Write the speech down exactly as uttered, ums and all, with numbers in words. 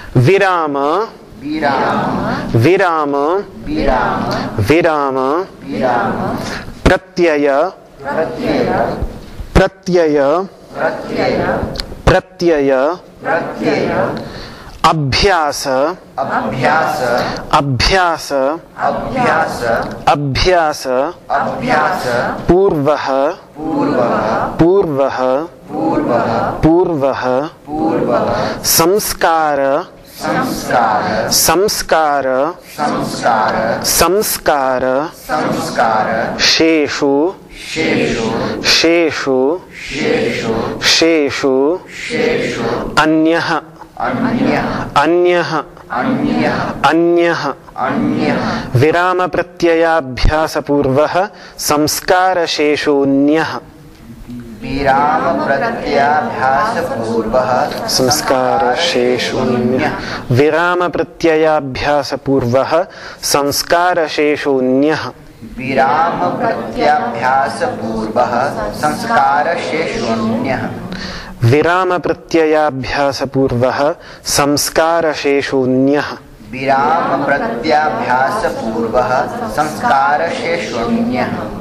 विराम विराम विराम प्रत्यय प्रत्यय प्रत्यय अभ्यास अभ्यास अभ्यास अभ्यास अभ्यास अभ्यास पूर्वः पूर्वः पूर्वः पूर्वः पूर्वः पूर्वः संस्कार संस्कार संस्कार संस्कार संस्कार संस्कार शेषु शेषु शेषु शेषु शेषु शेषु अन्यः अन्यः अन्यः अन्यः अन्यः अन्यः विराम प्रत्ययाभ्यास पूर्वः संस्कार शेषोऽन्यः विराम प्रत्ययाभ्यास पूर्वः संस्कार शेषोऽन्यः विराम प्रत्ययाभ्यास पूर्वः संस्कार शेषोऽन्यः विराम प्रत्ययाभ्यास पूर्वः संस्कार शेषोऽन्यः विराम प्रत्ययाभ्यास पूर्वः संस्कार शेषोऽन्यः विराम प्रत्ययाभ्यास पूर्वः संस्कार शेषोऽन्यः